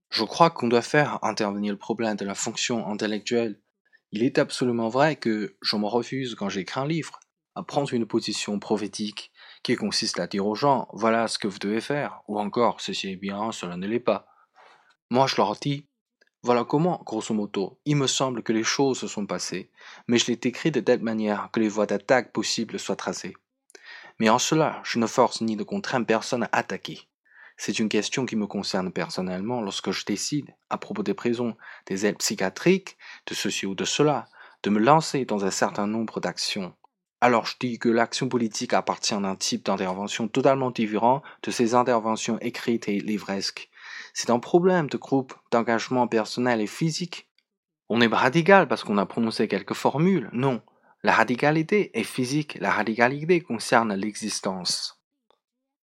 Je crois qu'on doit faire intervenir le problème de la fonction intellectuelle. Il est absolument vrai que je me refuse, quand j'écris un livre, à prendre une position prophétique qui consiste à dire aux gens voilà ce que vous devez faire, ou encore ceci est bien, cela ne l'est pas. Moi je leur dis voilà comment, grosso modo, il me semble que les choses se sont passées, mais je l'ai écrit de telle manière que les voies d'attaque possibles soient tracées. Mais en cela, je ne force ni ne contrains personne à attaquer. C'est une question qui me concerne personnellement lorsque je décide, à propos des prisons, des aides psychiatriques, de ceci ou de cela, de me lancer dans un certain nombre d'actions. Alors je dis que l'action politique appartient à un type d'intervention totalement différent de ces interventions écrites et livresques. C'est un problème de groupe, d'engagement personnel et physique. On n'est pas radical parce qu'on a prononcé quelques formules, non. La radicalité est physique, la radicalité concerne l'existence.